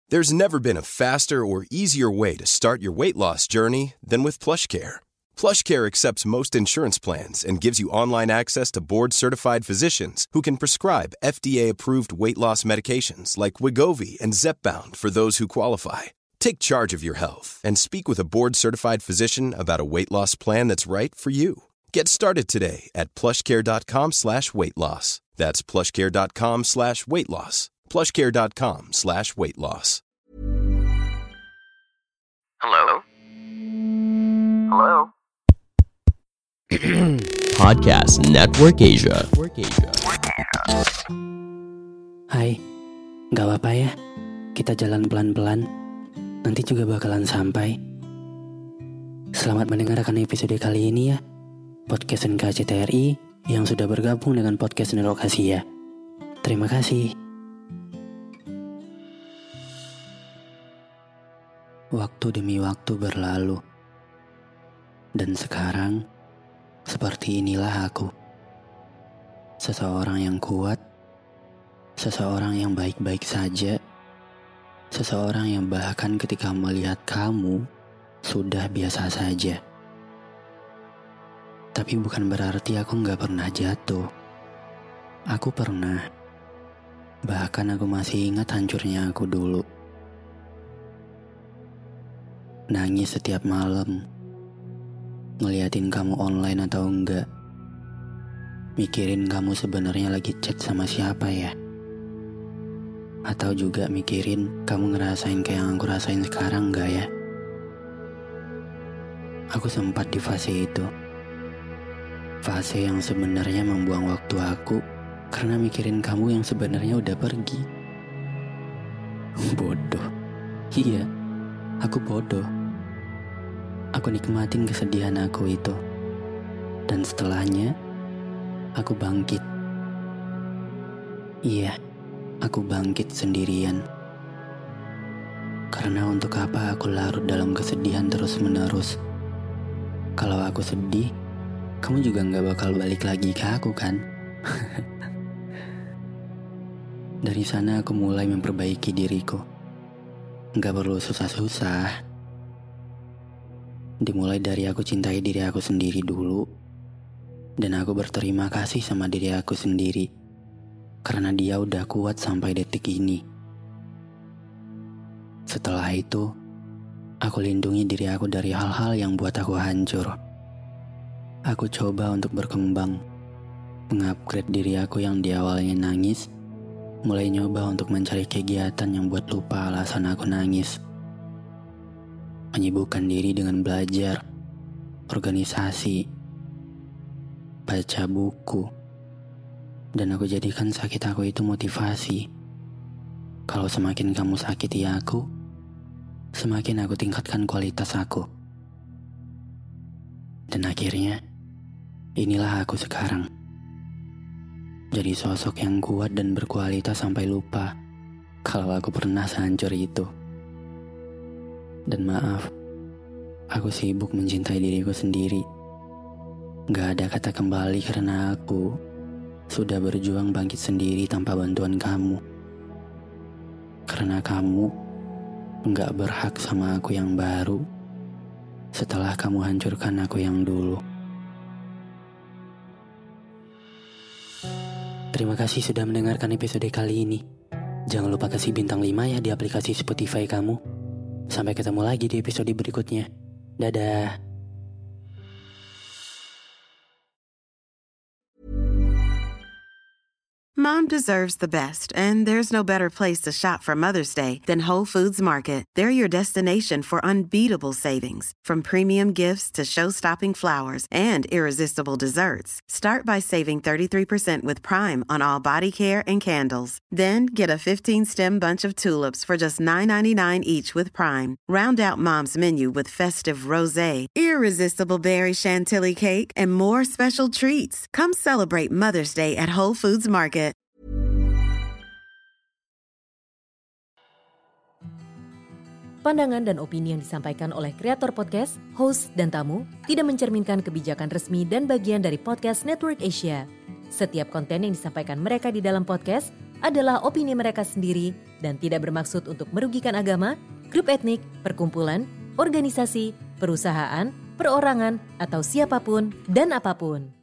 There's never been a faster or easier way to start your weight loss journey than with PlushCare. PlushCare accepts most insurance plans and gives you online access to board-certified physicians who can prescribe FDA-approved weight loss medications like Wegovy and Zepbound for those who qualify. Take charge of your health and speak with a board-certified physician about a weight loss plan that's right for you. Get started today at plushcare.com/weightloss. That's plushcare.com/weightloss. plushcare.com/weightloss. Hello? Hello? Podcast Network Asia. Hai, gak apa-apa ya, kita jalan pelan-pelan, nanti juga bakalan sampai. Selamat mendengarkan episode kali ini ya, Podcast NKCTRI yang sudah bergabung dengan Podcast Network Asia. Terima kasih. Waktu demi waktu berlalu, dan sekarang seperti inilah aku. Seseorang yang kuat, seseorang yang baik-baik saja, seseorang yang bahkan ketika melihat kamu sudah biasa saja. Tapi bukan berarti aku gak pernah jatuh. Aku pernah. Bahkan aku masih ingat hancurnya aku dulu. Nangis setiap malam, ngeliatin kamu online atau enggak, mikirin kamu sebenarnya lagi chat sama siapa ya, atau juga mikirin kamu ngerasain kayak yang aku rasain sekarang enggak ya. Aku sempat di fase itu, fase yang sebenarnya membuang waktu aku karena mikirin kamu yang sebenarnya udah pergi. Bodoh. Iya, aku bodoh. Aku nikmatin kesedihan aku itu. Dan setelahnya, aku bangkit. Iya, aku bangkit sendirian. Karena untuk apa aku larut dalam kesedihan terus-menerus? Kalau aku sedih, kamu juga gak bakal balik lagi ke aku kan? Dari sana aku mulai memperbaiki diriku. Gak perlu susah-susah. Dimulai dari aku cintai diri aku sendiri dulu. Dan aku berterima kasih sama diri aku sendiri. Karena dia udah kuat sampai detik ini. Setelah itu, aku lindungi diri aku dari hal-hal yang buat aku hancur. Aku coba untuk berkembang. Mengupgrade diri aku yang di awalnya nangis. Mulai nyoba untuk mencari kegiatan yang buat lupa alasan aku nangis. Menyibukkan diri dengan belajar, organisasi, baca buku, dan aku jadikan sakit aku itu motivasi. Kalau semakin kamu sakiti aku, semakin aku tingkatkan kualitas aku. Dan akhirnya, inilah aku sekarang. Jadi sosok yang kuat dan berkualitas sampai lupa kalau aku pernah sehancur itu. Dan maaf, aku sibuk mencintai diriku sendiri. Gak ada kata kembali karena aku sudah berjuang bangkit sendiri tanpa bantuan kamu. Karena kamu gak berhak sama aku yang baru setelah kamu hancurkan aku yang dulu. Terima kasih sudah mendengarkan episode kali ini. Jangan lupa kasih bintang 5 ya di aplikasi Spotify kamu. Sampai ketemu lagi di episode berikutnya. Dadah. Mom deserves the best, and there's no better place to shop for Mother's Day than Whole Foods Market. They're your destination for unbeatable savings, from premium gifts to show-stopping flowers and irresistible desserts. Start by saving 33% with Prime on all body care and candles. Then get a 15-stem bunch of tulips for just $9.99 each with Prime. Round out Mom's menu with festive rosé, irresistible berry chantilly cake, and more special treats. Come celebrate Mother's Day at Whole Foods Market. Pandangan dan opini yang disampaikan oleh kreator podcast, host, dan tamu tidak mencerminkan kebijakan resmi dan bagian dari Podcast Network Asia. Setiap konten yang disampaikan mereka di dalam podcast adalah opini mereka sendiri dan tidak bermaksud untuk merugikan agama, grup etnik, perkumpulan, organisasi, perusahaan, perorangan, atau siapapun dan apapun.